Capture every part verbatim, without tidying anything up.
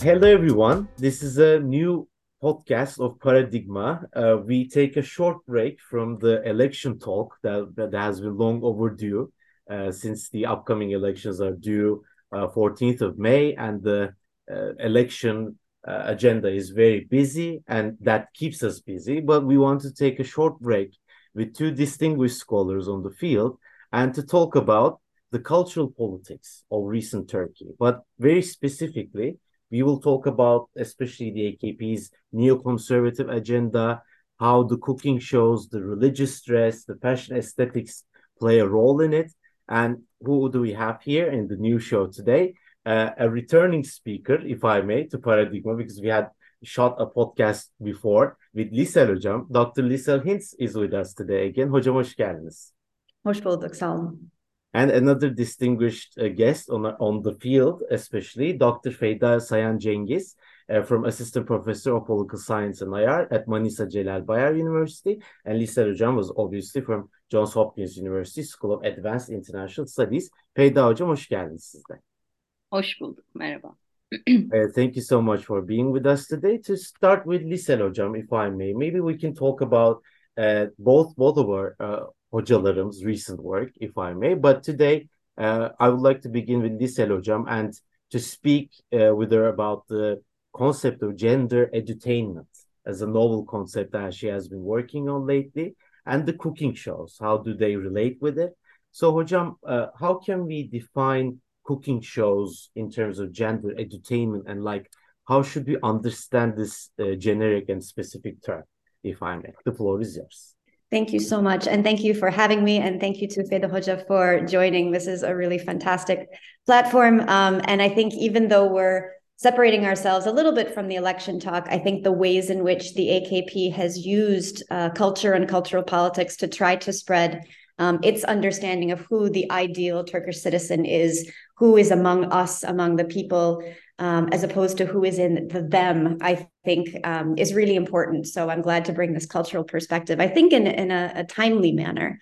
Hello, everyone. This is a new podcast of Paradigma. Uh, we take a short break from the election talk that, that has been long overdue uh, since the upcoming elections are due uh, fourteenth of May, and the uh, election uh, agenda is very busy, and that keeps us busy. But we want to take a short break with two distinguished scholars on the field and to talk about the cultural politics of recent Turkey, but very specifically we will talk about especially the A K P's neoconservative agenda, how the cooking shows, the religious dress, the fashion aesthetics play a role in it. And who do we have here in the new show today? Uh, a returning speaker, if I may, to Paradigma, because we had shot a podcast before with Lisel Hocam. Doctor Lisel Hintz is with us today again. Hocam hoş geldiniz. Hoş bulduk, sağ olun. And another distinguished uh, guest on, on the field, especially Doctor Feyda Sayan Cengiz, uh, from Assistant Professor of Political Science and I R at Manisa Celal Bayar University. And Lisa Hocam was obviously from Johns Hopkins University School of Advanced International Studies. Feyda Hocam hoş geldiniz siz de. Hoş bulduk, merhaba. Uh, thank you so much for being with us today. To start with Lisel Hocam, if I may, maybe we can talk about uh, both both of our uh, hocalarım's recent work, if I may. But today, uh, I would like to begin with Lisel Hocam and to speak uh, with her about the concept of gender edutainment as a novel concept that she has been working on lately, and the cooking shows. How do they relate with it? So, Hocam, uh, how can we define cooking shows in terms of gender edutainment, and like how should we understand this uh, generic and specific term, if I may? The floor is yours. Thank you so much. And thank you for having me. And thank you to Feyda Hoca for joining. This is a really fantastic platform. Um, and I think even though we're separating ourselves a little bit from the election talk, I think the ways in which the A K P has used uh, culture and cultural politics to try to spread um, its understanding of who the ideal Turkish citizen is, who is among us, among the people, um, as opposed to who is in the them, I think um, is really important. So I'm glad to bring this cultural perspective, I think in, in a, a timely manner.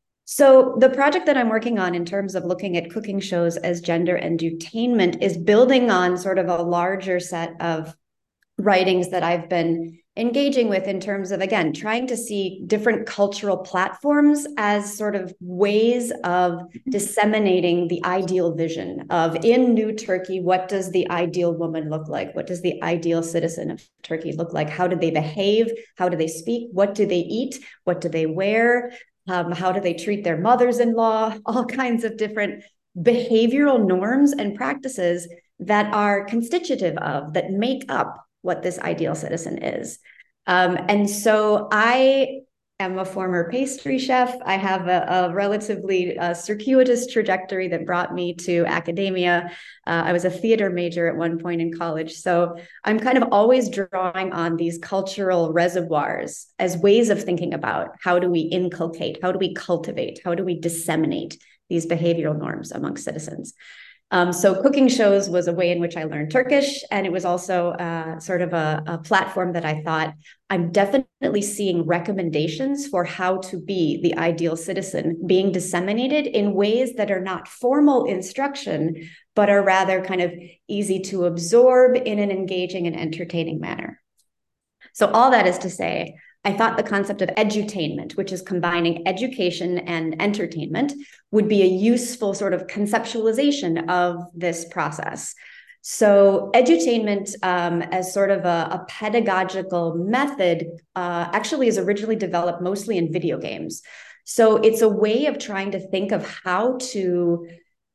So the project that I'm working on in terms of looking at cooking shows as gender edutainment is building on sort of a larger set of writings that I've been engaging with in terms of, again, trying to see different cultural platforms as sort of ways of disseminating the ideal vision of, in New Turkey, what does the ideal woman look like? What does the ideal citizen of Turkey look like? How do they behave? How do they speak? What do they eat? What do they wear? Um, how do they treat their mothers-in-law? All kinds of different behavioral norms and practices that are constitutive of, that make up what this ideal citizen is. Um, and so I am a former pastry chef. I have a, a relatively uh, circuitous trajectory that brought me to academia. Uh, I was a theater major at one point in college. So I'm kind of always drawing on these cultural reservoirs as ways of thinking about how do we inculcate, how do we cultivate, how do we disseminate these behavioral norms among citizens. Um, so cooking shows was a way in which I learned Turkish, and it was also uh, sort of a, a platform that I thought I'm definitely seeing recommendations for how to be the ideal citizen being disseminated in ways that are not formal instruction, but are rather kind of easy to absorb in an engaging and entertaining manner. So all that is to say, I thought the concept of edutainment, which is combining education and entertainment, would be a useful sort of conceptualization of this process. So edutainment um, as sort of a, a pedagogical method uh, actually is originally developed mostly in video games. So it's a way of trying to think of how to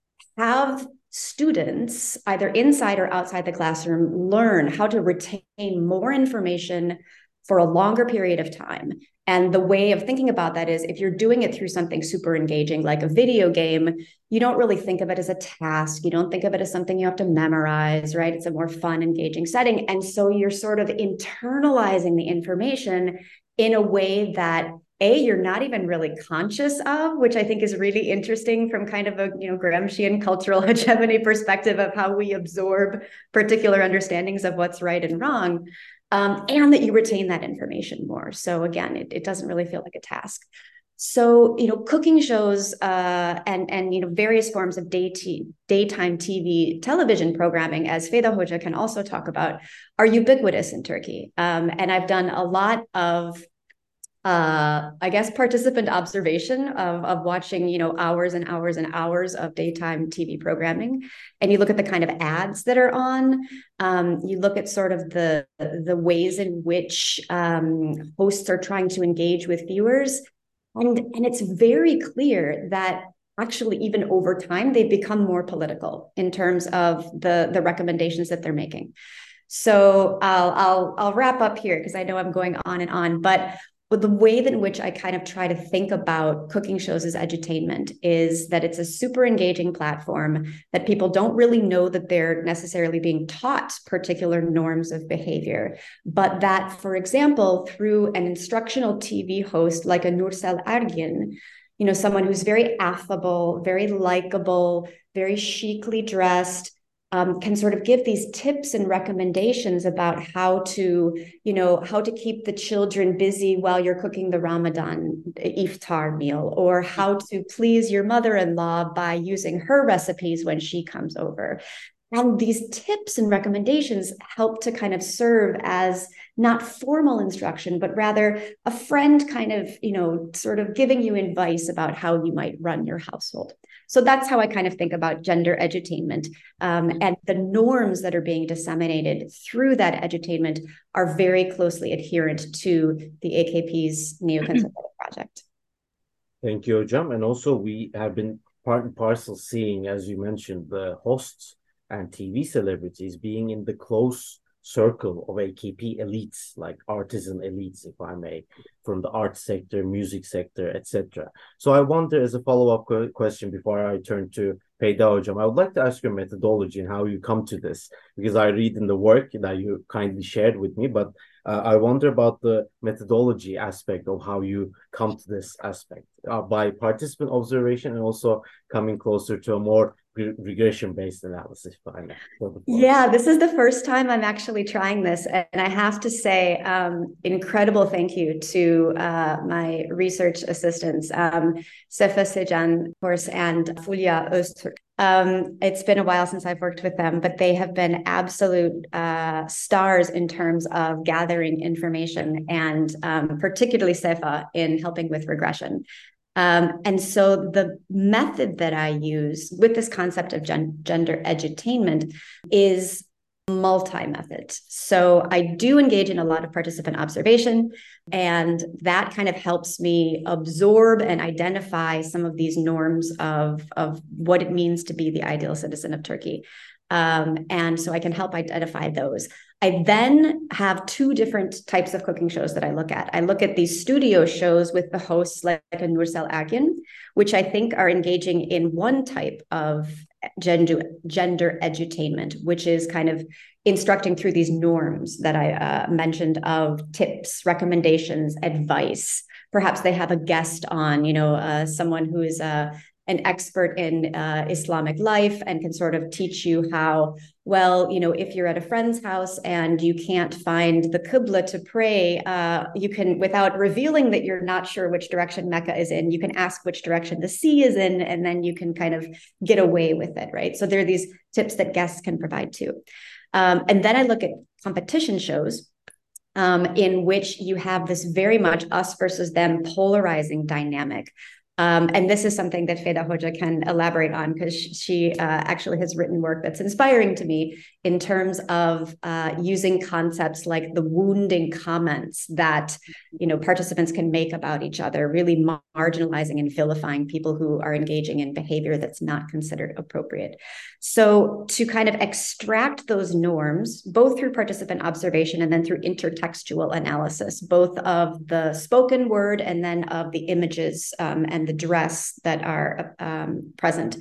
have students, either inside or outside the classroom, learn how to retain more information for a longer period of time. And the way of thinking about that is if you're doing it through something super engaging, like a video game, you don't really think of it as a task. You don't think of it as something you have to memorize, right? It's a more fun, engaging setting. And so you're sort of internalizing the information in a way that A, you're not even really conscious of, which I think is really interesting from kind of a, you know, Gramscian cultural hegemony perspective of how we absorb particular understandings of what's right and wrong. Um, and that you retain that information more. So again, it, it doesn't really feel like a task. So, you know, cooking shows uh, and, and, you know, various forms of day t- daytime T V television programming, as Feyda Hoca can also talk about, are ubiquitous in Turkey. Um, and I've done a lot of uh, I guess, participant observation of, of watching, you know, hours and hours and hours of daytime T V programming. And you look at the kind of ads that are on. Um, you look at sort of the, the ways in which um, hosts are trying to engage with viewers. And, and it's very clear that actually, even over time, they've become more political in terms of the, the recommendations that they're making. So I'll I'll I'll wrap up here because I know I'm going on and on, but but the way in which I kind of try to think about cooking shows as edutainment is that it's a super engaging platform, that people don't really know that they're necessarily being taught particular norms of behavior, but that, for example, through an instructional T V host like a Nursel Ergin, you know, someone who's very affable, very likable, very chicly dressed, Um, can sort of give these tips and recommendations about how to, you know, how to keep the children busy while you're cooking the Ramadan iftar meal, or how to please your mother-in-law by using her recipes when she comes over. And these tips and recommendations help to kind of serve as not formal instruction, but rather a friend kind of, you know, sort of giving you advice about how you might run your household. So that's how I kind of think about gender edutainment. Um, and the norms that are being disseminated through that edutainment are very closely adherent to the A K P's Neoconservative Project. Thank you, Hocam. And also we have been part and parcel seeing, as you mentioned, the hosts and T V celebrities being in the close circle of A K P elites, like artisan elites, if I may, from the art sector, music sector, et cetera. So I wonder, as a follow-up question before I turn to Feyda Hocam, I would like to ask your methodology and how you come to this, because I read in the work that you kindly shared with me, but uh, I wonder about the methodology aspect of how you come to this aspect uh, by participant observation and also coming closer to a more regression-based analysis. Yeah, this is the first time I'm actually trying this. And I have to say, um, incredible thank you to uh, my research assistants, um, Sefa Sejan, of course, and Fulya Öztürk. Um, it's been a while since I've worked with them, but they have been absolute uh, stars in terms of gathering information, and um, particularly Sefa in helping with regression. Um, and so the method that I use with this concept of gen- gender edutainment is multi-method. So I do engage in a lot of participant observation, and that kind of helps me absorb and identify some of these norms of, of what it means to be the ideal citizen of Turkey. Um, and so I can help identify those. I then have two different types of cooking shows that I look at. I look at these studio shows with the hosts like a Nursel Ergin, which I think are engaging in one type of gender, gender edutainment, which is kind of instructing through these norms that I uh, mentioned of tips, recommendations, advice. Perhaps they have a guest on, you know, uh, someone who is a uh, an expert in uh, Islamic life and can sort of teach you how, well, you know, if you're at a friend's house and you can't find the Qibla to pray, uh, you can, without revealing that you're not sure which direction Mecca is in, you can ask which direction the sea is in, and then you can kind of get away with it, right? So there are these tips that guests can provide too. Um, and then I look at competition shows um, in which you have this very much us versus them polarizing dynamic. Um, and this is something that Feyda Hoca can elaborate on, because she uh, actually has written work that's inspiring to me in terms of uh, using concepts like the wounding comments that, you know, participants can make about each other, really marginalizing and vilifying people who are engaging in behavior that's not considered appropriate. So to kind of extract those norms, both through participant observation and then through intertextual analysis, both of the spoken word and then of the images um, and the dress that are um, present.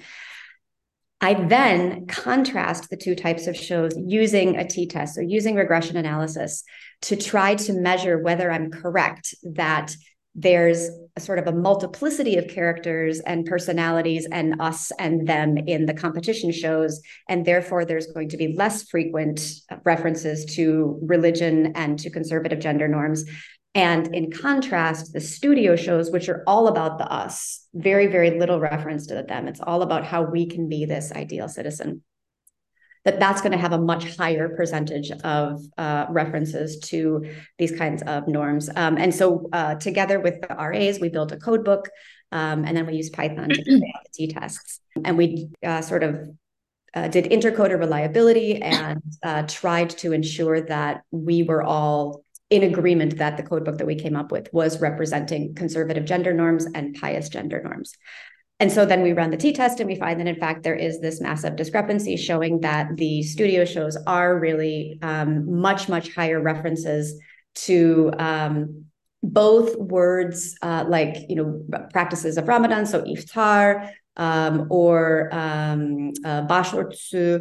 I then contrast the two types of shows using a t-test, so using regression analysis, to try to measure whether I'm correct that there's a sort of a multiplicity of characters and personalities and us and them in the competition shows, and therefore there's going to be less frequent references to religion and to conservative gender norms. And in contrast, the studio shows, which are all about the us, very, very little reference to the them. It's all about how we can be this ideal citizen. That that's going to have a much higher percentage of uh, references to these kinds of norms. Um, and so uh, together with the R As, we built a code book, um, and then we used Python to carry out the t-tests. And we uh, sort of uh, did intercoder reliability and uh, tried to ensure that we were all in agreement that the code book that we came up with was representing conservative gender norms and pious gender norms. And so then we run the t-test and we find that, in fact, there is this massive discrepancy showing that the studio shows are really um, much, much higher references to um, both words uh, like, you know, practices of Ramadan, so iftar, um, or um, uh, başörtüsü,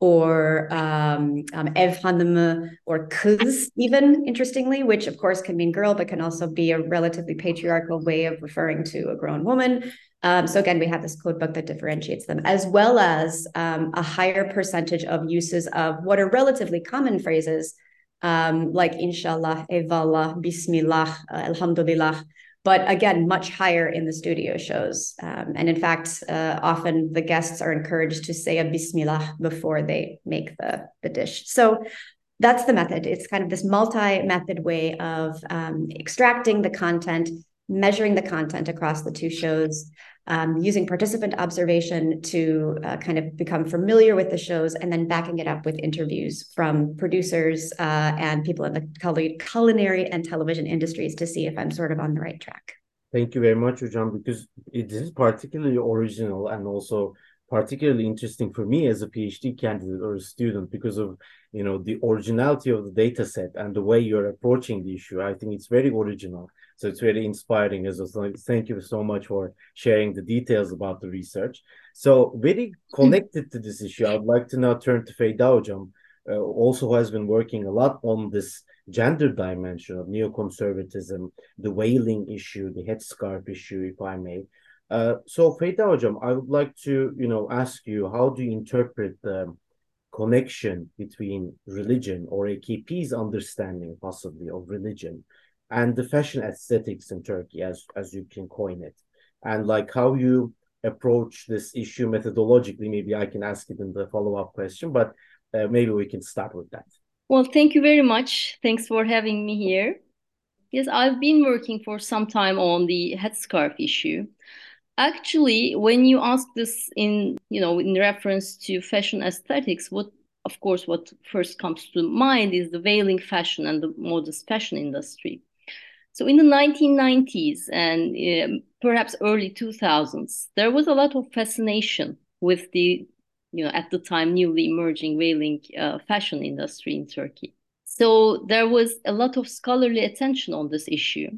or um, um, ev hanımı, or kız even, interestingly, which of course can mean girl, but can also be a relatively patriarchal way of referring to a grown woman. Um, so again, we have this code book that differentiates them, as well as um, a higher percentage of uses of what are relatively common phrases, um, like inshallah, evallah, bismillah, uh, alhamdulillah, but again, much higher in the studio shows. Um, and in fact, uh, often the guests are encouraged to say a bismillah before they make the, the dish. So that's the method. It's kind of this multi-method way of um, extracting the content, measuring the content across the two shows, um, using participant observation to uh, kind of become familiar with the shows, and then backing it up with interviews from producers uh, and people in the culinary and television industries to see if I'm sort of on the right track. Thank you very much, Hocam, because it is particularly original and also particularly interesting for me as a PhD candidate or a student because of, you know, the originality of the data set and the way you're approaching the issue. I think it's very original. So it's very inspiring as well. Thank you so much for sharing the details about the research. So very connected to this issue, I'd like to now turn to Feyda Hocam, uh, also who has been working a lot on this gender dimension of neoconservatism, the whaling issue, the headscarf issue, if I may. Uh, so Feyda Hocam, I would like to, you know, ask you, how do you interpret the connection between religion, or A K P's understanding possibly of religion, and the fashion aesthetics in Turkey, as as you can coin it, and like how you approach this issue methodologically? Maybe I can ask it in the follow-up question, but uh, maybe we can start with that. Well, thank you very much. Thanks for having me here. Yes, I've been working for some time on the headscarf issue. Actually, when you ask this in, you know, in reference to fashion aesthetics, what, of course, what first comes to mind is the veiling fashion and the modest fashion industry. So in the nineteen nineties and um, perhaps early two thousands, there was a lot of fascination with the, you know, at the time newly emerging veiling uh, fashion industry in Turkey. So there was a lot of scholarly attention on this issue.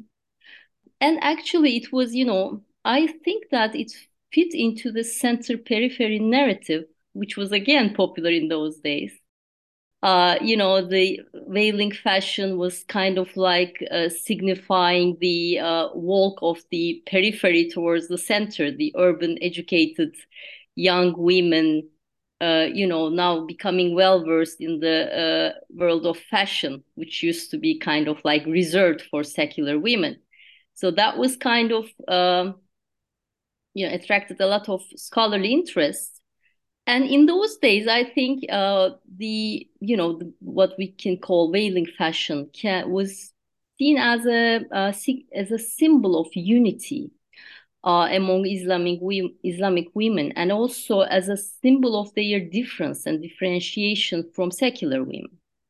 And actually it was, you know, I think that it fit into the center-periphery narrative, which was again popular in those days. Uh, you know, the veiling fashion was kind of like uh, signifying the uh, walk of the periphery towards the center, the urban, educated young women, uh, you know, now becoming well-versed in the uh, world of fashion, which used to be kind of like reserved for secular women. So that was kind of, um, you know, attracted a lot of scholarly interest. And in those days, I think uh, the, you know, the, what we can call veiling fashion can, was seen as a, uh, as a symbol of unity uh, among Islamic, Islamic women, and also as a symbol of their difference and differentiation from secular women.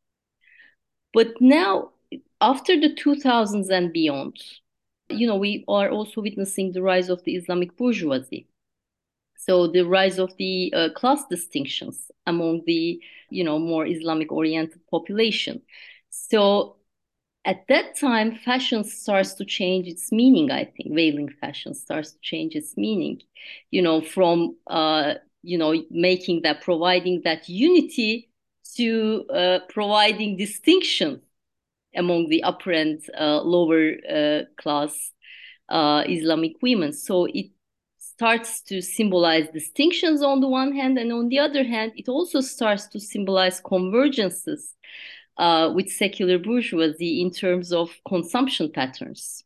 But now, after the two thousands and beyond, you know, we are also witnessing the rise of the Islamic bourgeoisie. So the rise of the uh, class distinctions among the, you know, more Islamic-oriented population. So at that time, fashion starts to change its meaning, I think. Veiling fashion starts to change its meaning, you know, from, uh, you know, making that, providing that unity to uh, providing distinction among the upper and uh, lower uh, class uh, Islamic women. So it starts to symbolize distinctions on the one hand, and on the other hand, it also starts to symbolize convergences uh, with secular bourgeoisie in terms of consumption patterns.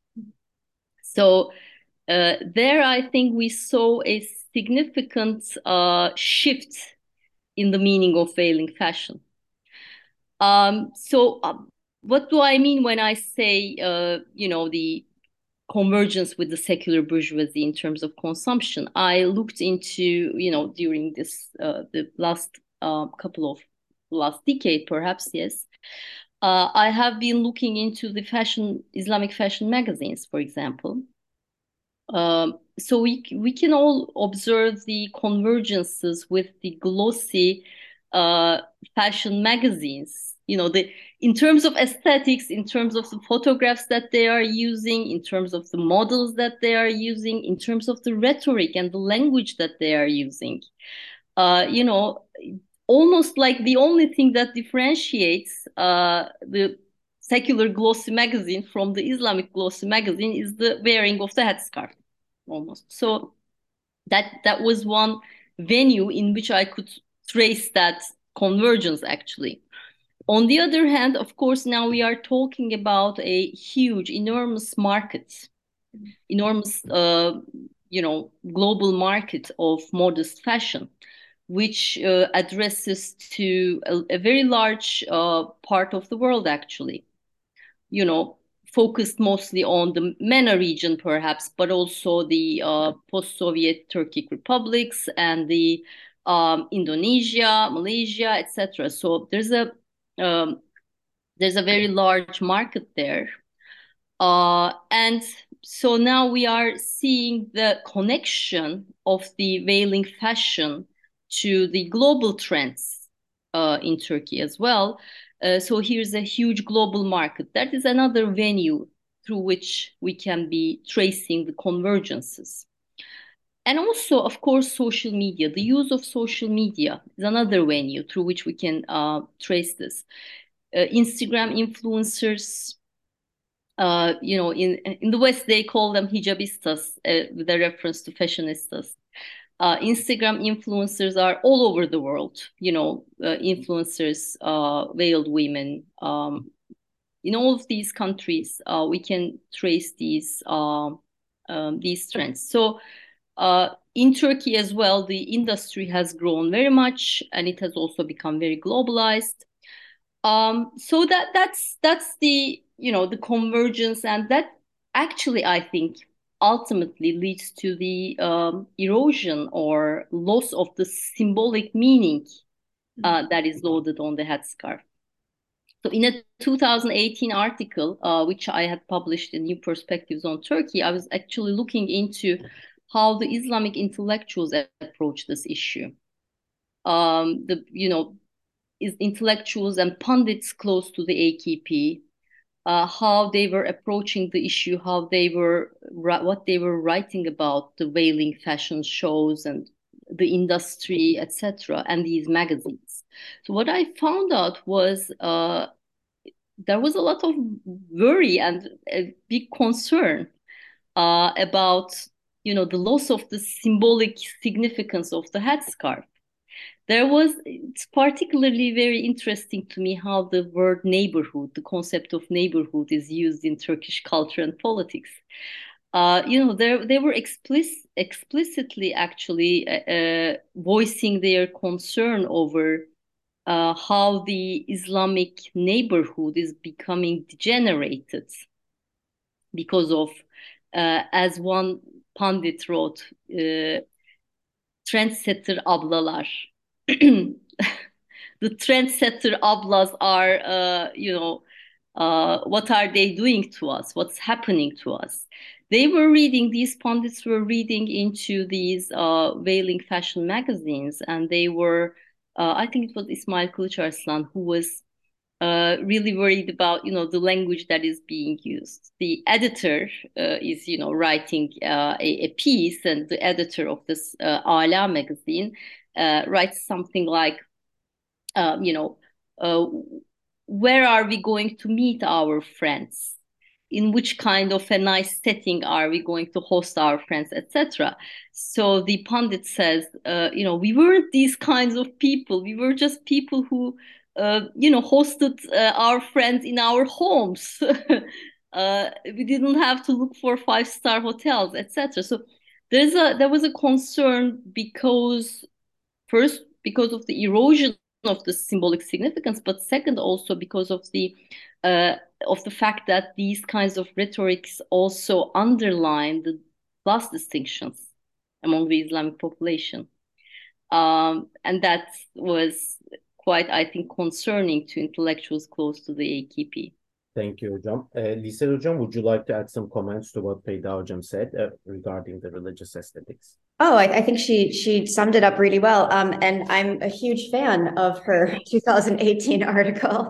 So uh, there, I think we saw a significant uh, shift in the meaning of veiling fashion. Um, so uh, what do I mean when I say, uh, you know, the convergence with the secular bourgeoisie in terms of consumption? I looked into, you know, during this, uh, the last uh, couple of, last decade, perhaps, yes. Uh, I have been looking into the fashion, Islamic fashion magazines, for example. Um, so we we can all observe the convergences with the glossy uh, fashion magazines. You know, the in terms of aesthetics, in terms of the photographs that they are using, in terms of the models that they are using, in terms of the rhetoric and the language that they are using. Uh, you know, almost like the only thing that differentiates uh, the secular glossy magazine from the Islamic glossy magazine is the wearing of the headscarf, almost. So that that was one venue in which I could trace that convergence, actually. On the other hand, of course, now we are talking about a huge, enormous market, enormous, uh, you know, global market of modest fashion, which uh, addresses to a, a very large uh, part of the world, actually. You know, focused mostly on the MENA region, perhaps, but also the uh, post-Soviet Turkic republics and the um, Indonesia, Malaysia, et cetera. So there's a um, there's a very large market there, uh, and so now we are seeing the connection of the veiling fashion to the global trends uh, in Turkey as well. Uh, so here's a huge global market. That is another venue through which we can be tracing the convergences. And also, of course, social media. The use of social media is another venue through which we can uh, trace this. Uh, Instagram influencers, uh, you know, in in the West they call them hijabistas, uh, with a reference to fashionistas. Uh, Instagram influencers are all over the world. You know, uh, influencers, uh, veiled women. Um, in all of these countries, uh, we can trace these uh, um, these trends. So. Uh, in Turkey as well, the industry has grown very much, and it has also become very globalized. Um, so that that's that's the you know the convergence, and that actually I think ultimately leads to the um, erosion or loss of the symbolic meaning uh, that is loaded on the headscarf. So in a two thousand eighteen article, uh, which I had published in New Perspectives on Turkey, I was actually looking into how the Islamic intellectuals approach this issue. Um, the you know is intellectuals and pundits close to the A K P, uh, how they were approaching the issue, how they were what they were writing about the veiling fashion shows and the industry, et cetera, and these magazines. So what I found out was uh, there was a lot of worry and a big concern uh, about you know the loss of the symbolic significance of the headscarf. There was, it's particularly very interesting to me how the word neighborhood, the concept of neighborhood is used in Turkish culture and politics. Uh, you know, they they were explicit, explicitly actually uh, uh, voicing their concern over uh, how the Islamic neighborhood is becoming degenerated because of, uh, as one pundit wrote, uh, trendsetter ablalar. The trendsetter ablas are, uh, you know, uh, what are they doing to us? What's happening to us? They were reading, these pundits were reading into these uh, veiling fashion magazines, and they were, uh, I think it was Ismail Kılıçarslan who was uh, really worried about, you know, the language that is being used. The editor uh, is, you know, writing uh, a, a piece, and the editor of this uh, Ala magazine uh, writes something like, um, you know, uh, where are we going to meet our friends? In which kind of a nice setting are we going to host our friends, et cetera. So the pundit says, uh, you know, we weren't these kinds of people. We were just people who uh, you know, hosted uh, our friends in our homes. uh, we didn't have to look for five-star hotels, et cetera. So there's a there was a concern because first because of the erosion of the symbolic significance, but second also because of the uh, of the fact that these kinds of rhetorics also underline the class distinctions among the Islamic population. Um, and that was quite, I think, concerning to intellectuals close to the A K P. Thank you, Hocam. Uh, Lisa Hocam, would you like to add some comments to what Peyda Hocam said uh, regarding the religious aesthetics? Oh, I, I think she she summed it up really well. Um, and I'm a huge fan of her two thousand eighteen article.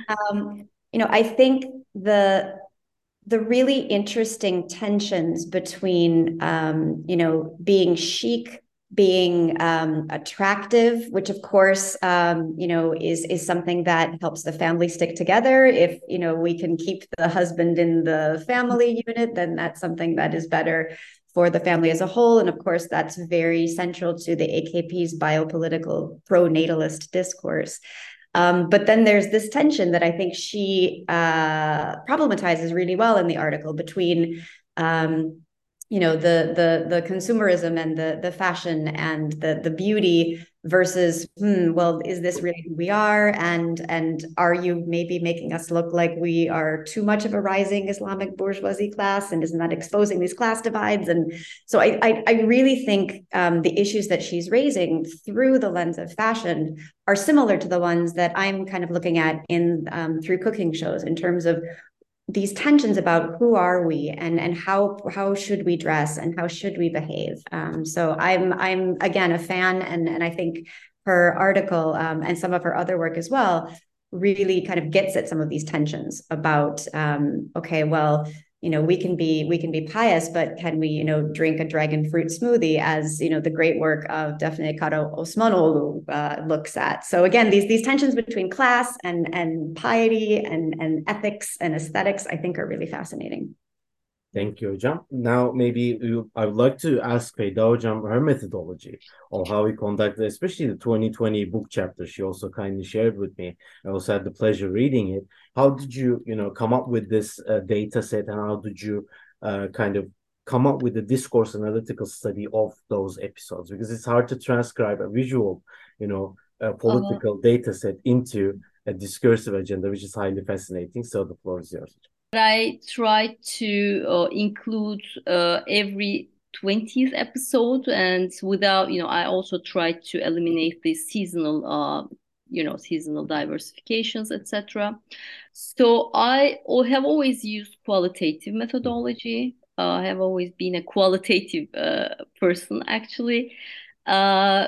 Um, you know, I think the the really interesting tensions between um, you know, being chic, being um, attractive, which of course um, you know, is is something that helps the family stick together. If you know, we can keep the husband in the family unit, then that's something that is better for the family as a whole. And of course, that's very central to the A K P's biopolitical pro-natalist discourse. Um, but then there's this tension that I think she uh, problematizes really well in the article between, um, you know, the the the consumerism and the the fashion and the the beauty versus, hmm, well, is this really who we are? And and are you maybe making us look like we are too much of a rising Islamic bourgeoisie class? And isn't that exposing these class divides? And so I I, I really think um, the issues that she's raising through the lens of fashion are similar to the ones that I'm kind of looking at in um, through cooking shows in terms of these tensions about who are we and and how how should we dress and how should we behave. Um, so I'm I'm again a fan, and and I think her article um, and some of her other work as well really kind of gets at some of these tensions about um, okay, well, you know, we can be we can be pious, but can we, you know, drink a dragon fruit smoothie, as you know, the great work of Defne Kara Osmanoğlu uh, looks at. So again, these these tensions between class and and piety and and ethics and aesthetics, I think, are really fascinating. Thank you, Hocam. Now, maybe you, I would like to ask Peyda Hocam her methodology of how we conducted, especially the twenty twenty book chapter. She also kindly shared with me. I also had the pleasure reading it. How did you, you know, come up with this uh, data set, and how did you uh, kind of come up with the discourse analytical study of those episodes? Because it's hard to transcribe a visual, you know, a political uh-huh. data set into a discursive agenda, which is highly fascinating. So the floor is yours. I try to uh, include uh, every twentieth episode, and without, you know, I also try to eliminate the seasonal, uh, you know, seasonal diversifications, et cetera. So I have always used qualitative methodology. Uh, I have always been a qualitative uh, person, actually. Uh,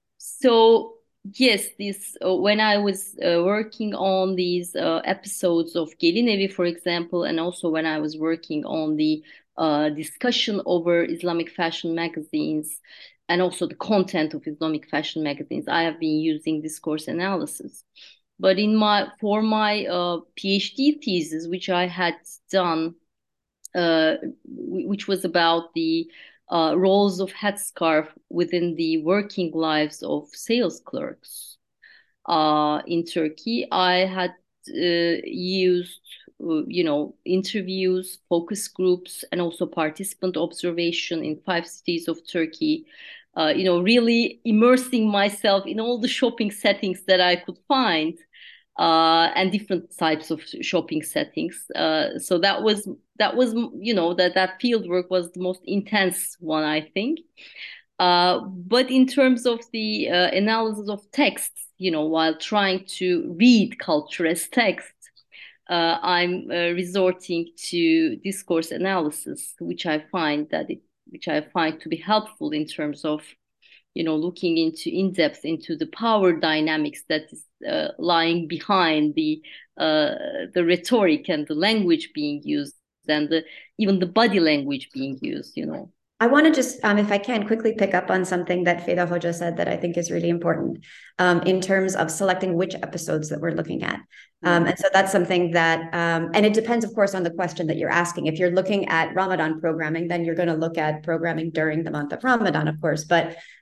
so. Yes, this uh, when I was uh, working on these uh, episodes of Gelin Evi, for example, and also when I was working on the uh, discussion over Islamic fashion magazines and also the content of Islamic fashion magazines, I have been using discourse analysis. But in my for my uh, PhD thesis, which I had done, uh, which was about the Uh, roles of headscarf within the working lives of sales clerks uh, in Turkey. I had uh, used, uh, you know, interviews, focus groups, and also participant observation in five cities of Turkey. Uh, you know, really immersing myself in all the shopping settings that I could find. Uh, and different types of shopping settings. Uh, so that was that was you know that that field work was the most intense one, I think. Uh, but in terms of the uh, analysis of texts, you know, while trying to read culture as text, uh, I'm uh, resorting to discourse analysis, which I find that it, which I find to be helpful in terms of, you know, looking into in depth into the power dynamics that is uh, lying behind the uh, the rhetoric and the language being used, and the even the body language being used, you know. I want to just, um, if I can, quickly pick up on something that Feyda Hoca said that I think is really important um, in terms of selecting which episodes that we're looking at. Um, and so that's something that, um, and it depends, of course, on the question that you're asking. If you're looking at Ramadan programming, then you're going to look at programming during the month of Ramadan, of course. But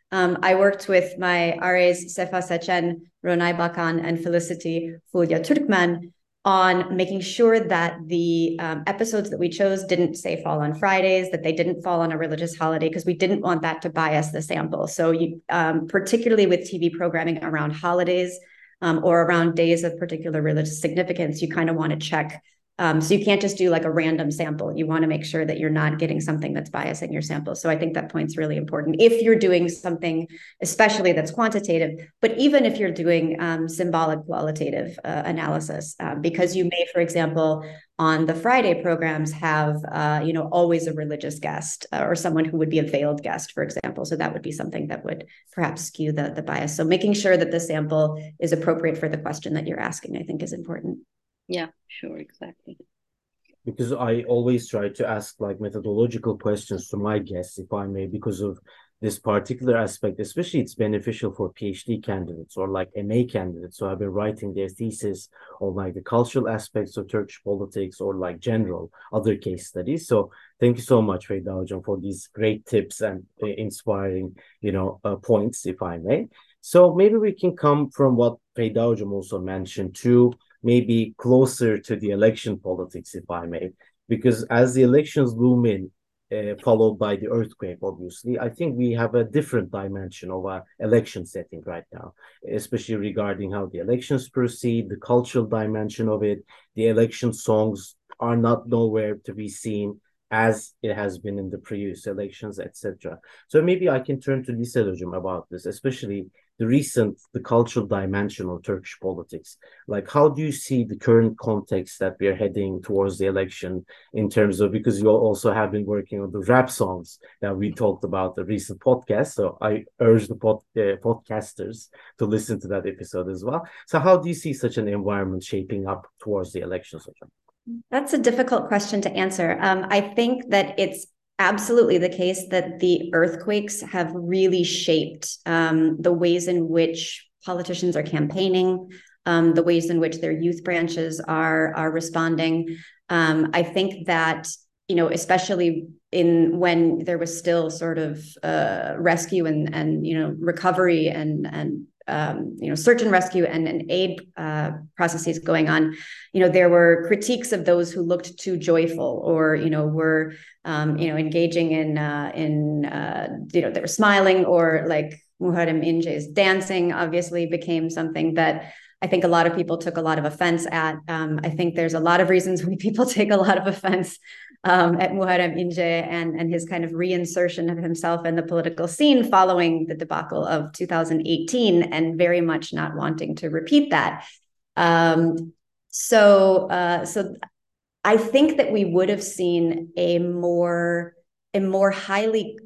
Um, I worked with my R As Sefa Sechen, Ronay Bakan, and Felicity Fulya Turkman on making sure that the um, episodes that we chose didn't say fall on Fridays, that they didn't fall on a religious holiday, because we didn't want that to bias the sample. So you, um, particularly with T V programming around holidays um, or around days of particular religious significance, you kind of want to check. Um, so you can't just do like a random sample. You want to make sure that you're not getting something that's biasing your sample. So I think that point's really important if you're doing something, especially that's quantitative, but even if you're doing um, symbolic qualitative uh, analysis, um, because you may, for example, on the Friday programs have, uh, you know, always a religious guest uh, or someone who would be a veiled guest, for example. So that would be something that would perhaps skew the, the bias. So making sure that the sample is appropriate for the question that you're asking, I think is important. Yeah, sure, exactly. Because I always try to ask like methodological questions to my guests, if I may, because of this particular aspect, especially it's beneficial for PhD candidates or like M A candidates who have been writing their thesis on like the cultural aspects of Turkish politics or like general other case studies. So thank you so much, Feyda Hocam, for these great tips and uh, inspiring, you know, uh, points, if I may. So maybe we can come from what Feyda Hocam also mentioned to maybe closer to the election politics, if I may, because as the elections loom in, uh, followed by the earthquake, obviously, I think we have a different dimension of our election setting right now, especially regarding how the elections proceed, the cultural dimension of it. The election songs are not nowhere to be seen as it has been in the previous elections, et cetera. So maybe I can turn to Lisa Hocam about this, especially the recent, the cultural dimension of Turkish politics. Like, how do you see the current context that we are heading towards the election in terms of, because you also have been working on the rap songs that we talked about the recent podcast. So I urge the pod, uh, podcasters to listen to that episode as well. So how do you see such an environment shaping up towards the elections? That's a difficult question to answer. Um, I think that it's absolutely the case that the earthquakes have really shaped um, the ways in which politicians are campaigning, um, the ways in which their youth branches are are responding. Um, I think that, you know, especially in when there was still sort of uh, rescue and and you know recovery and and um, you know search and rescue and, and aid uh, processes going on, you know, there were critiques of those who looked too joyful or you know were um, you know engaging in uh, in uh, you know they were smiling, or like Muharrem İnce's dancing obviously became something that I think a lot of people took a lot of offense at. Um, I think there's a lot of reasons why people take a lot of offense um, at Muharrem İnce and, and his kind of reinsertion of himself in the political scene following the debacle of two thousand eighteen, and very much not wanting to repeat that. Um, so, uh, so I think that we would have seen a more, a more highly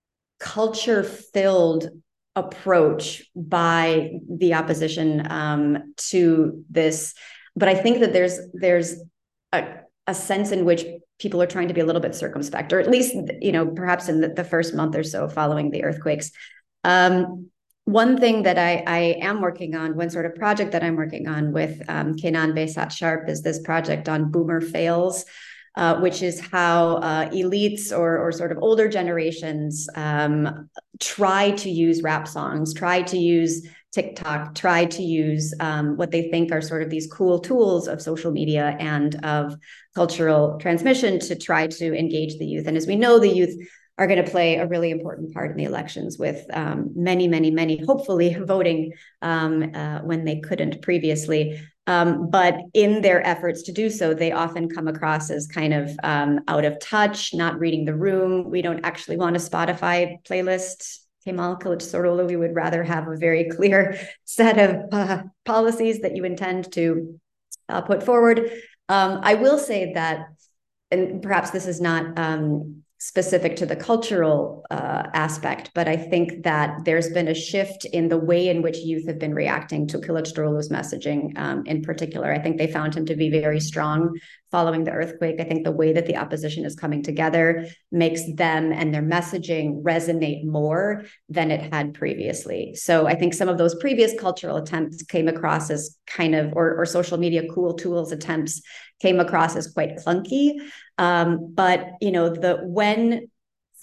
culture-filled approach by the opposition um, to this, but I think that there's there's a, a sense in which people are trying to be a little bit circumspect, or at least you know perhaps in the, the first month or so following the earthquakes. Um, one thing that I, I am working on, one sort of project that I'm working on with um, Kenan Behzat Sharp, is this project on boomer fails. Uh, which is how uh, elites or, or sort of older generations um, try to use rap songs, try to use TikTok, try to use um, what they think are sort of these cool tools of social media and of cultural transmission to try to engage the youth. And as we know, the youth are going to play a really important part in the elections, with um, many, many, many hopefully voting um, uh, when they couldn't previously. Um, but in their efforts to do so, they often come across as kind of um, out of touch, not reading the room. We don't actually want a Spotify playlist, Kemal Kılıçdaroğlu. We would rather have a very clear set of uh, policies that you intend to uh, put forward. Um, I will say that, and perhaps this is not um, specific to the cultural uh, aspect, but I think that there's been a shift in the way in which youth have been reacting to Kılıçdaroğlu's messaging um, in particular. I think they found him to be very strong following the earthquake. I think the way that the opposition is coming together makes them and their messaging resonate more than it had previously. So I think some of those previous cultural attempts came across as kind of, or, or social media cool tools attempts came across as quite clunky. Um, but, you know, the when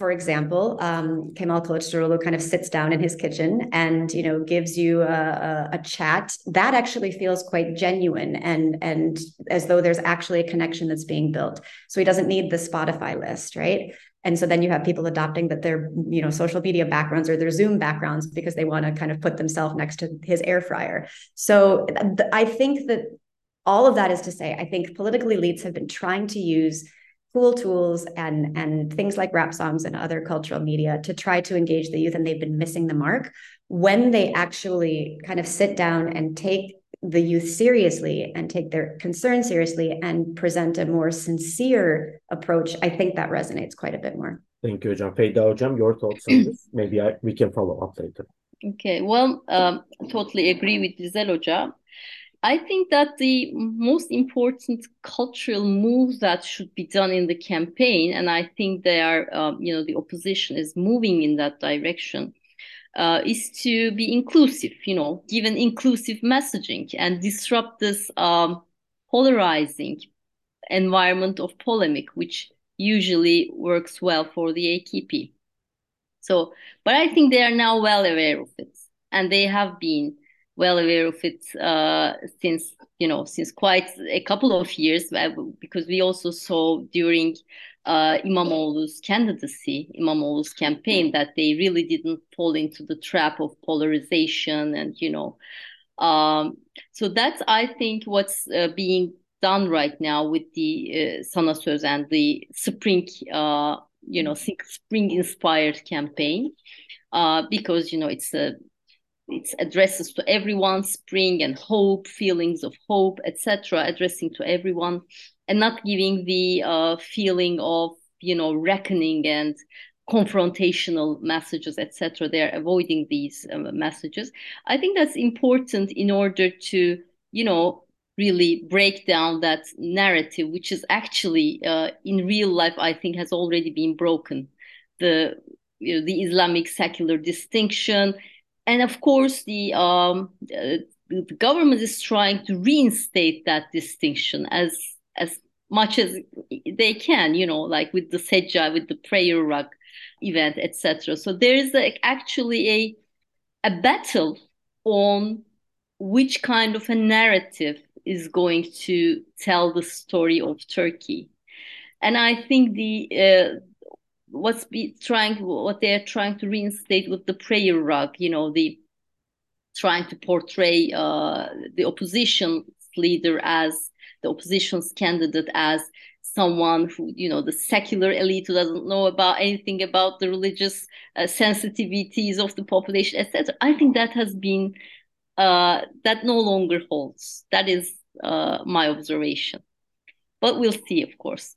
for example, um, Kemal Kılıçdaroğlu kind of sits down in his kitchen and, you know, gives you a, a, a chat, that actually feels quite genuine and, and as though there's actually a connection that's being built. So he doesn't need the Spotify list, right? And so then you have people adopting that their, you know, social media backgrounds or their Zoom backgrounds because they want to kind of put themselves next to his air fryer. So th- I think that all of that is to say, I think political elites have been trying to use cool tools and, and things like rap songs and other cultural media to try to engage the youth, and they've been missing the mark. When they actually kind of sit down and take the youth seriously and take their concerns seriously and present a more sincere approach, I think that resonates quite a bit more. Thank you, Hocam. Feyda Hocam, your thoughts on this? Maybe I, we can follow up later. Okay, well, um, totally agree with Dizel Hoca. I think that the most important cultural move that should be done in the campaign, and I think they are, um, you know, the opposition is moving in that direction, uh, is to be inclusive, you know, give an inclusive messaging and disrupt this um, polarizing environment of polemic, which usually works well for the A K P. So, but I think they are now well aware of it, and they have been well aware of it uh, since, you know, since quite a couple of years, because we also saw during uh, İmamoğlu's candidacy, İmamoğlu's campaign, that they really didn't fall into the trap of polarization and, you know, um, so that's, I think, what's uh, being done right now with the uh, Sana Söz and the spring, uh, you know, spring-inspired campaign, uh, because, you know, it's a it addresses to everyone, spring and hope, feelings of hope, et cetera, addressing to everyone, and not giving the uh, feeling of, you know, reckoning and confrontational messages, et cetera. They're avoiding these um, messages. I think that's important in order to, you know, really break down that narrative, which is actually uh, in real life, I think, has already been broken. The, you know, the Islamic secular distinction. And of course, the, um, uh, the government is trying to reinstate that distinction as as much as they can, you know, like with the Sejja, with the prayer rug event, et cetera. So there is a, actually a a battle on which kind of a narrative is going to tell the story of Turkey. And I think the uh, what's be trying what they're trying to reinstate with the prayer rug, you know, the trying to portray uh, the opposition leader as the opposition's candidate as someone who, you know, the secular elite who doesn't know about anything about the religious uh, sensitivities of the population, et cetera. I think that has been uh, that no longer holds. That is uh, my observation. But we'll see, of course.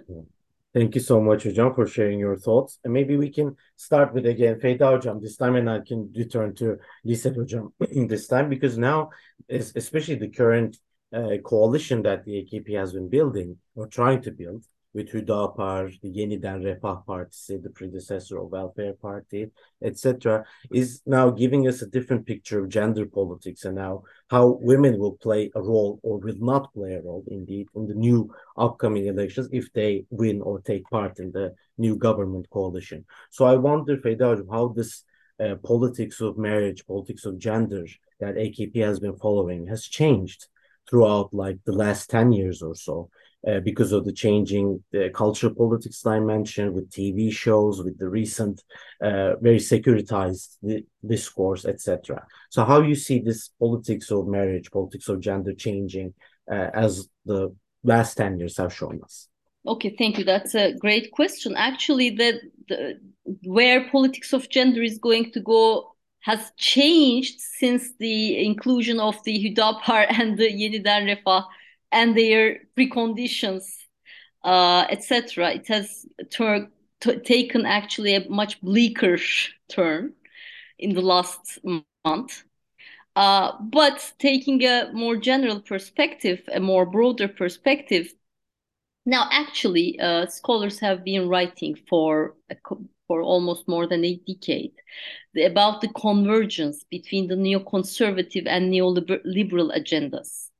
Thank you so much, Hocam, for sharing your thoughts. And maybe we can start with, again, Feyda Hocam this time, and I can return to Lisa Hocam this time, because now, especially the current uh, coalition that the A K P has been building or trying to build with Hüdapar, the Yeniden Refah Partisi, the predecessor of Welfare Party, et cetera, is now giving us a different picture of gender politics and now how women will play a role or will not play a role, indeed, in the new upcoming elections if they win or take part in the new government coalition. So I wonder, Feyda, how this uh, politics of marriage, politics of gender that A K P has been following has changed throughout like the last ten years or so. Uh, because of the changing the cultural politics that I mentioned, with T V shows, with the recent uh, very securitized discourse, et cetera. So how you see this politics of marriage, politics of gender changing uh, as the last ten years have shown us? Okay, thank you. That's a great question. Actually, the, the where politics of gender is going to go has changed since the inclusion of the Hüdapar and the Yeniden Refah and their preconditions, uh, et cetera. It has tur- t- taken actually a much bleaker turn in the last month. Uh, but taking a more general perspective, a more broader perspective, now actually uh, scholars have been writing for a, for almost more than a decade about the convergence between the neoconservative and neoliberal agendas.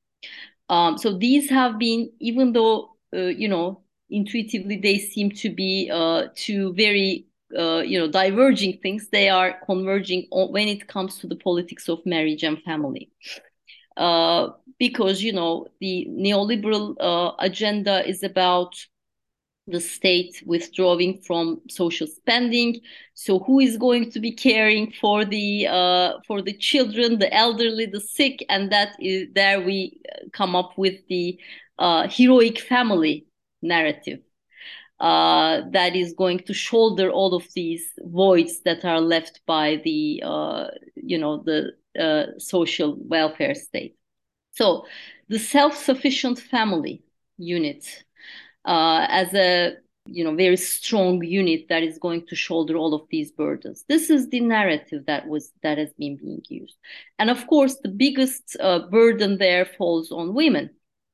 Um, so these have been, even though, uh, you know, intuitively they seem to be uh, two very uh, you know, diverging things, they are converging on, when it comes to the politics of marriage and family. Uh, because, you know, the neoliberal uh, agenda is about the state withdrawing from social spending. So who is going to be caring for the uh, for the children, the elderly, the sick? And that is there we come up with the uh, heroic family narrative uh, that is going to shoulder all of these voids that are left by the uh, you know the uh, social welfare state. So the self-sufficient family unit uh, as a you know very strong unit that is going to shoulder all of these burdens. This is the narrative that was that has been being used, and of course the biggest uh, burden there falls on women.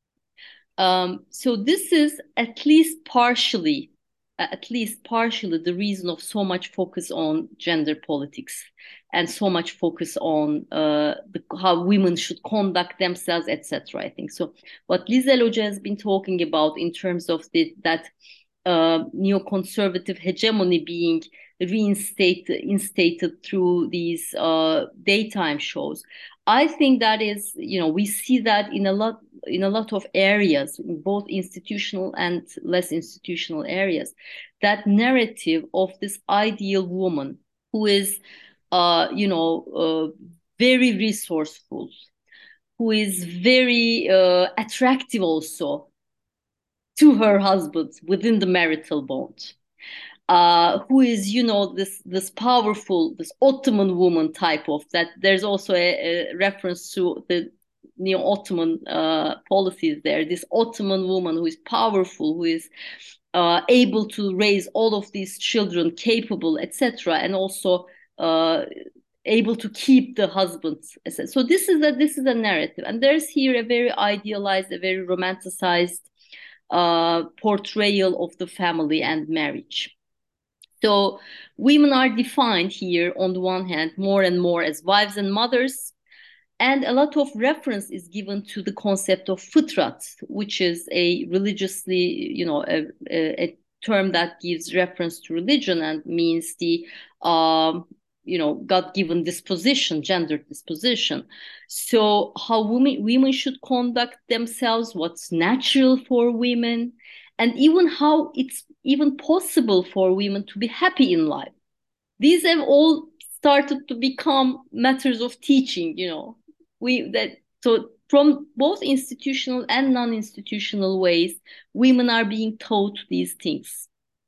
Um, so this is at least partially, at least partially the reason of so much focus on gender politics and so much focus on uh, the, how women should conduct themselves, et cetera. I think so. What Lizel Hoca has been talking about in terms of the, that uh, neoconservative hegemony being reinstated, instated through these uh, daytime shows. I think that is, you know, we see that in a lot in a lot of areas, in both institutional and less institutional areas, that narrative of this ideal woman who is, uh, you know, uh, very resourceful, who is very uh, attractive also to her husband within the marital bond. Uh, who is, you know, this this powerful, this Ottoman woman type of that. There's also a, a reference to the neo-Ottoman uh, policies there. This Ottoman woman who is powerful, who is uh, able to raise all of these children, capable, et cetera, and also uh, able to keep the husband. So this is a this is a narrative, and there's here a very idealized, a very romanticized uh, portrayal of the family and marriage. So women are defined here on the one hand more and more as wives and mothers, and a lot of reference is given to the concept of fıtrat, which is a religiously, you know, a, a term that gives reference to religion and means the, um, you know, God-given disposition, gender disposition. So how women women should conduct themselves, what's natural for women, and even how it's even possible for women to be happy in life. These have all started to become matters of teaching, you know. We that so from both institutional and non-institutional ways, women are being taught these things.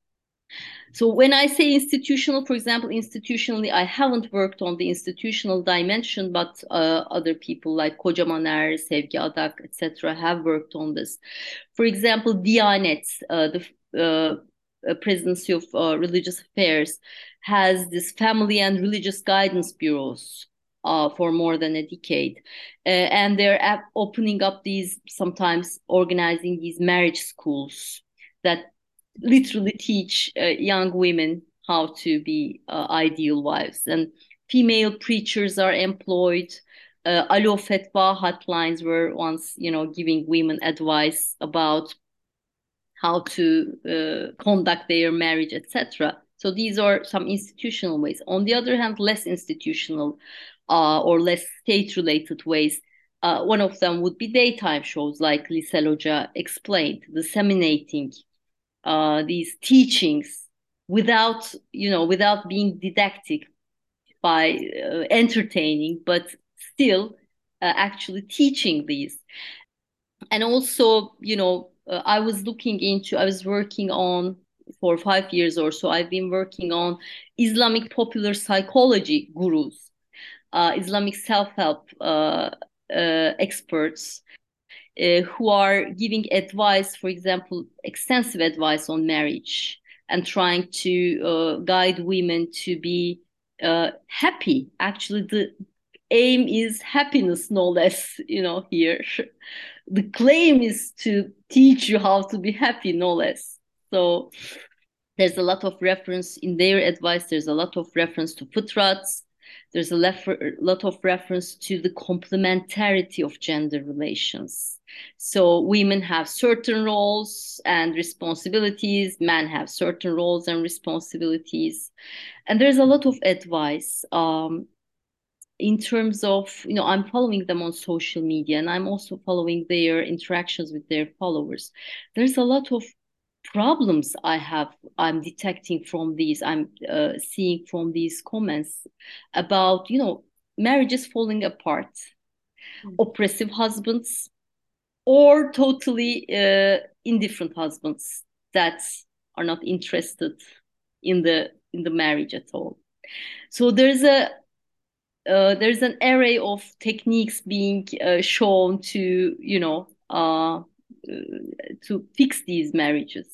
So when I say institutional, for example, institutionally, I haven't worked on the institutional dimension, but uh, other people like Kocaman Er, Sevgi Adak, et cetera, have worked on this. For example, Diyanet, uh, the uh, Presidency of uh, Religious Affairs, has this family and religious guidance bureaus uh, for more than a decade, uh, and they're opening up these, sometimes organizing these marriage schools that literally teach uh, young women how to be uh, ideal wives, and female preachers are employed. Uh, Alo Fetva hotlines were once, you know, giving women advice about how to uh, conduct their marriage, et cetera. So these are some institutional ways. On the other hand, less institutional uh, or less state-related ways. Uh, one of them would be daytime shows, like Lizel Hoca explained, disseminating Uh, these teachings without, you know, without being didactic, by uh, entertaining, but still uh, actually teaching these. And also, you know, uh, I was looking into, I was working on, for five years or so, I've been working on Islamic popular psychology gurus, uh, Islamic self-help uh, uh, experts, Uh, who are giving advice, for example, extensive advice on marriage and trying to uh, guide women to be uh, happy. Actually, the aim is happiness, no less, you know, here. The claim is to teach you how to be happy, no less. So there's a lot of reference in their advice. There's a lot of reference to fıtrats. There's a lot of reference to the complementarity of gender relations. So women have certain roles and responsibilities, men have certain roles and responsibilities. And there's a lot of advice um, in terms of, you know, I'm following them on social media, and I'm also following their interactions with their followers. There's a lot of problems I have, I'm detecting from these, I'm uh, seeing from these comments about, you know, marriages falling apart, mm-hmm. oppressive husbands, or totally uh, indifferent husbands that are not interested in the in the marriage at all. So there's a uh, there's an array of techniques being uh, shown to, you know, uh, to fix these marriages.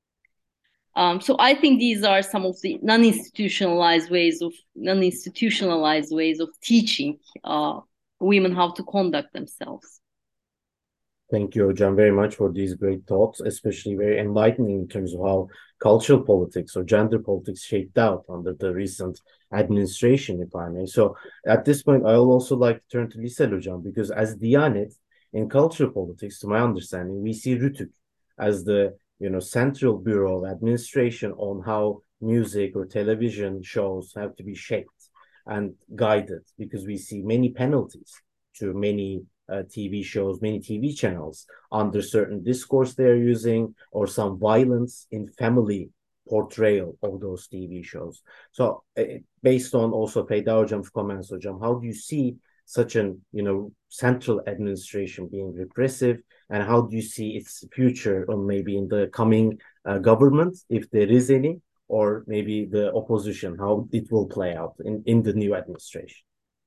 Um, so I think these are some of the non-institutionalized ways of non-institutionalized ways of teaching uh, women how to conduct themselves. Thank you, Hocam, very much for these great thoughts, especially very enlightening in terms of how cultural politics or gender politics shaped out under the recent administration, if I may. So at this point, I will also like to turn to Lisel Hocam, because as Diyanet, in cultural politics, to my understanding, we see Rütük as the, you know, central bureau of administration on how music or television shows have to be shaped and guided, because we see many penalties to many uh, T V shows, many T V channels under certain discourse they're using, or some violence in family portrayal of those T V shows. So uh, based on also Feyda Hocam's comments, Hocam, how do you see such an, you know, central administration being repressive, and how do you see its future, or maybe in the coming uh, government, if there is any, or maybe the opposition, how it will play out in, in the new administration?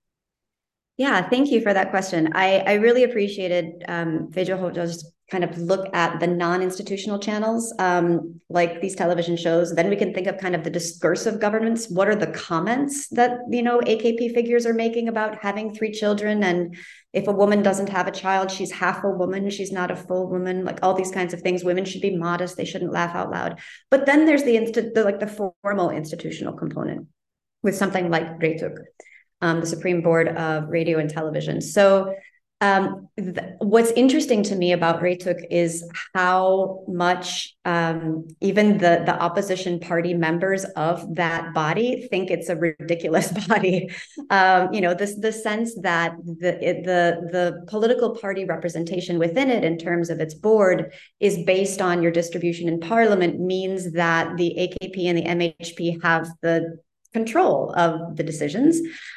Yeah, thank you for that question. I, I really appreciated um, Feyda Hoca's kind of look at the non-institutional channels, um, like these television shows. Then we can think of kind of the discursive governments. What are the comments that, you know, A K P figures are making about having three children? And if a woman doesn't have a child, she's half a woman, she's not a full woman, like all these kinds of things. Women should be modest, they shouldn't laugh out loud. But then there's the, inst- the like the formal institutional component with something like Reytük. Um, the Supreme Board of Radio and Television. So um, th- what's interesting to me about Reytük is how much um, even the, the opposition party members of that body think it's a ridiculous body. Um, you know, this the sense that the, it, the, the political party representation within it in terms of its board is based on your distribution in parliament means that the A K P and the M H P have the control of the decisions.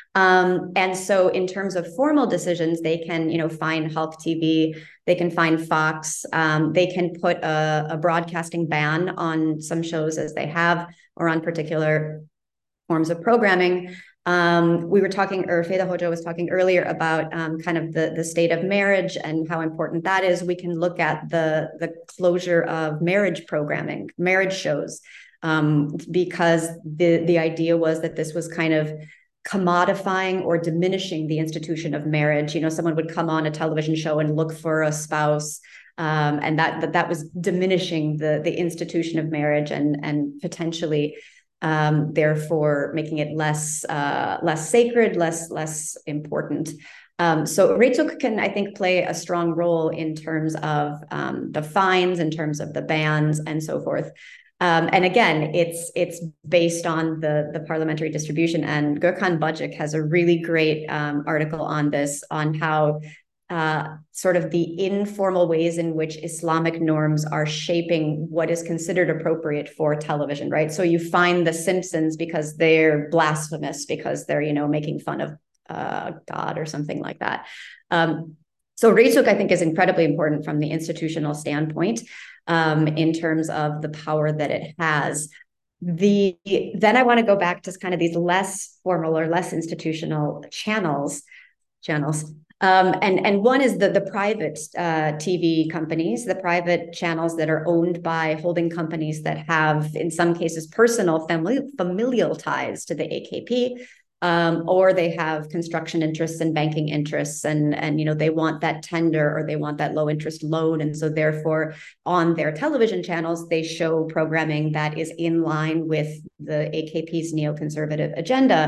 Um, and so in terms of formal decisions, they can, you know, find Halk T V, they can find Fox, um, they can put a, a broadcasting ban on some shows as they have, or on particular forms of programming. Um, we were talking, or Feyda Hoca was talking earlier about um, kind of the, the state of marriage and how important that is. We can look at the, the closure of marriage programming, marriage shows, um, because the, the idea was that this was kind of commodifying or diminishing the institution of marriage. You know, someone would come on a television show and look for a spouse, um, and that, that that was diminishing the, the institution of marriage, and, and potentially um, therefore making it less uh, less sacred, less less important. Um, so Reytük can, I think, play a strong role in terms of um, the fines, in terms of the bans, and so forth. Um, and again, it's it's based on the, the parliamentary distribution. And Gökhan Bacik has a really great um, article on this, on how uh, sort of the informal ways in which Islamic norms are shaping what is considered appropriate for television, right? So you find The Simpsons because they're blasphemous, because they're, you know, making fun of uh, God or something like that. Um, so Reytük, I think, is incredibly important from the institutional standpoint. Um, in terms of the power that it has. The then I want to go back to kind of these less formal or less institutional channels, channels. Um, and, and one is the, the private uh, T V companies, the private channels that are owned by holding companies that have, in some cases, personal family, familial ties to the A K P. Um, or they have construction interests and banking interests, and, and you know, they want that tender, or they want that low interest loan. And so therefore, on their television channels, they show programming that is in line with the A K P's neoconservative agenda.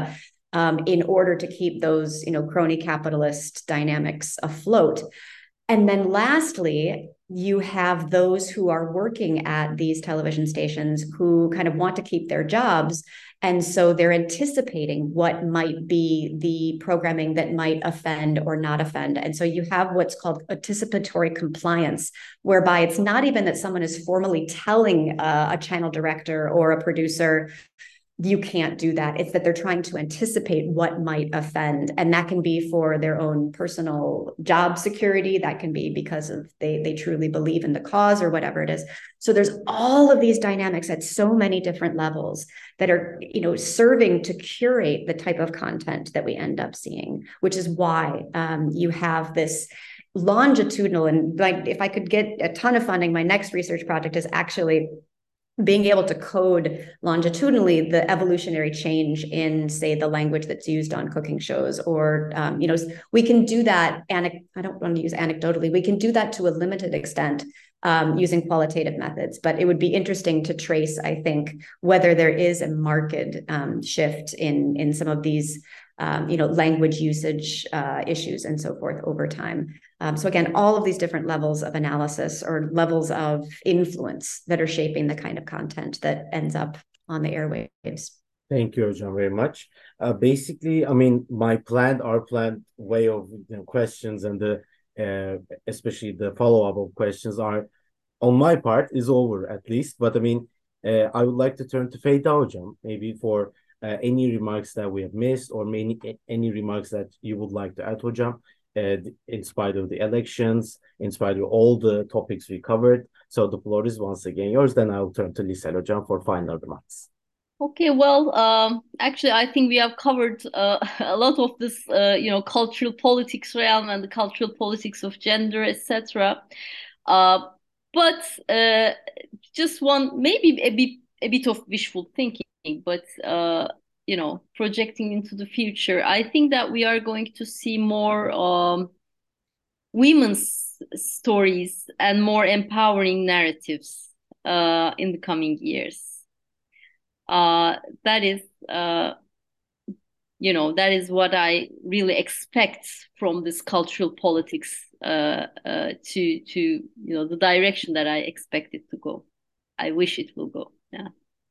um, in order to keep those, you know, crony capitalist dynamics afloat. And then lastly, you have those who are working at these television stations who kind of want to keep their jobs. And so they're anticipating what might be the programming that might offend or not offend. And so you have what's called anticipatory compliance, whereby it's not even that someone is formally telling uh, a channel director or a producer, you can't do that. It's that they're trying to anticipate what might offend. And that can be for their own personal job security. That can be because of they, they truly believe in the cause or whatever it is. So there's all of these dynamics at so many different levels that are, you know, serving to curate the type of content that we end up seeing, which is why um, you have this longitudinal, and like, if I could get a ton of funding, my next research project is actually being able to code longitudinally the evolutionary change in, say, the language that's used on cooking shows, or, um, you know, we can do that, I don't want to use anecdotally, we can do that to a limited extent um, using qualitative methods, but it would be interesting to trace, I think, whether there is a marked um, shift in, in some of these Um, you know, language usage uh, issues and so forth over time. Um, so again, all of these different levels of analysis or levels of influence that are shaping the kind of content that ends up on the airwaves. Thank you, Hocam, very much. Uh, basically, I mean, my planned, our planned way of, you know, questions and the uh, especially the follow-up of questions are, on my part, is over at least. But I mean, uh, I would like to turn to Feyda Hocam, maybe for Uh, any remarks that we have missed, or many any remarks that you would like to add, Hocam, uh, in spite of the elections, in spite of all the topics we covered. So the floor is once again yours. Then I'll turn to Liesel Hocam for final remarks. Okay, well, um, actually, I think we have covered uh, a lot of this, uh, you know, cultural politics realm and the cultural politics of gender, et cetera. Uh, but uh, just one, maybe a bit, a bit of wishful thinking, but uh, you know, projecting into the future, I think that we are going to see more um, women's stories and more empowering narratives uh, in the coming years. Uh, that is, uh, you know, that is what I really expect from this cultural politics uh, uh, to, to, you know, the direction that I expect it to go. I wish it will go. Yeah.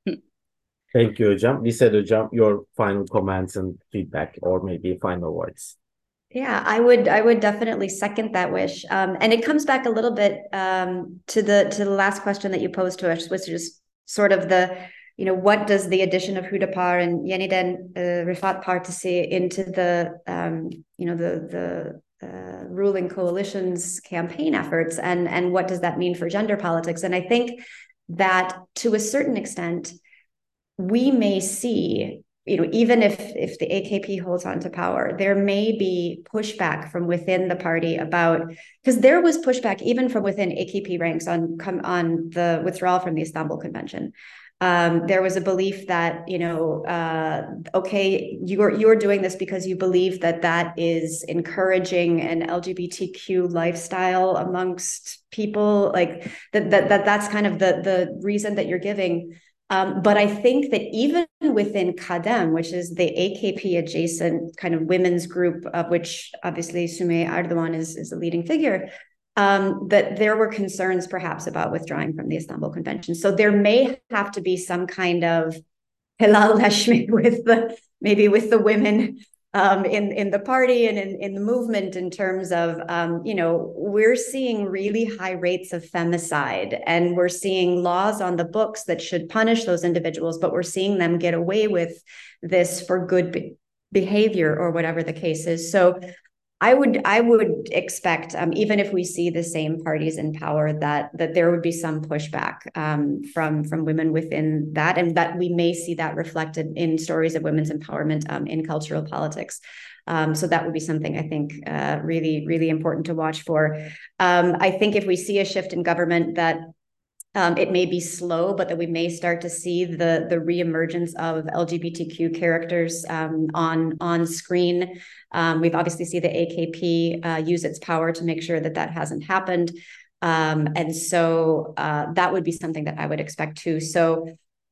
Thank you, Hocam. Liesel Hocam, your final comments and feedback, or maybe final words. Yeah, I would I would definitely second that wish. Um, and it comes back a little bit um, to the to the last question that you posed to us, which is sort of the, you know, what does the addition of Hüdapar and Yeniden uh, Rifat Partisi into the, um, you know, the the uh, ruling coalition's campaign efforts, and and what does that mean for gender politics? And I think that to a certain extent, we may see, you know, even if if the A K P holds on to power, there may be pushback from within the party about, because there was pushback even from within A K P ranks on come on the withdrawal from the Istanbul Convention. Um, there was a belief that, you know, uh, okay, you're you're doing this because you believe that that is encouraging an L G B T Q lifestyle amongst people, like that that, that that's kind of the the reason that you're giving. Um, but I think that even within Kadem, which is the A K P adjacent kind of women's group, of which obviously Sümeyye Erdoğan is, is a leading figure, um, that there were concerns perhaps about withdrawing from the Istanbul Convention. So there may have to be some kind of helalleşme with the, maybe with the women Um, in, in the party and in, in the movement, in terms of, um, you know, we're seeing really high rates of femicide, and we're seeing laws on the books that should punish those individuals, but we're seeing them get away with this for good be- behavior or whatever the case is. So I would I would expect, um, even if we see the same parties in power, that that there would be some pushback um, from from women within that, and that we may see that reflected in stories of women's empowerment um, in cultural politics. Um, so that would be something I think uh, really really important to watch for. Um, I think if we see a shift in government, that Um, it may be slow, but that we may start to see the the reemergence of L G B T Q characters um, on on screen. Um, we've obviously seen the A K P uh, use its power to make sure that that hasn't happened, um, and so uh, that would be something that I would expect too. So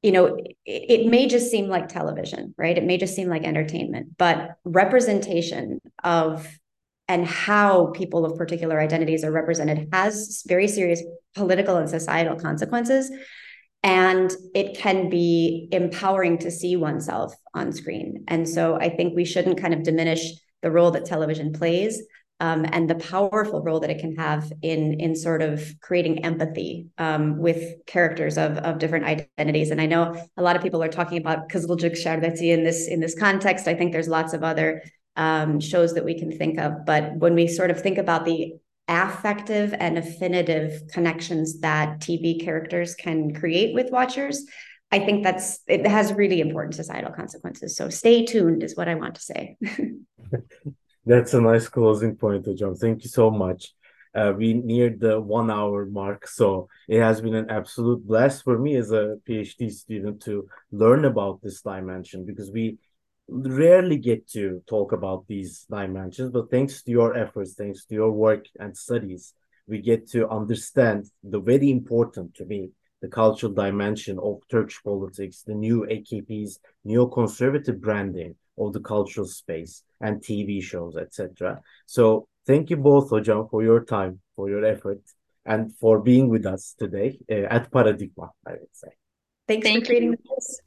you know, it, it may just seem like television, right? It may just seem like entertainment, but representation of and how people of particular identities are represented has very serious political and societal consequences. And it can be empowering to see oneself on screen. And so I think we shouldn't kind of diminish the role that television plays, um, and the powerful role that it can have in, in sort of creating empathy um, with characters of, of different identities. And I know a lot of people are talking about Kızılcık Şerbeti in this, in this context. I think there's lots of other um, shows that we can think of. But when we sort of think about the affective and affinitive connections that T V characters can create with watchers, I think that's it has really important societal consequences. So stay tuned is what I want to say. That's a nice closing point, Hocam. Thank you so much. Uh, we neared the one hour mark, so it has been an absolute blast for me as a PhD student to learn about this dimension, because we rarely get to talk about these dimensions, but thanks to your efforts, thanks to your work and studies, we get to understand the very important, to me, the cultural dimension of Turkish politics, the new A K P's neoconservative branding of the cultural space and T V shows, et cetera. So thank you both, Hocam, for your time, for your effort, and for being with us today uh, at Paradigma, I would say. Thanks Thank for creating you. this.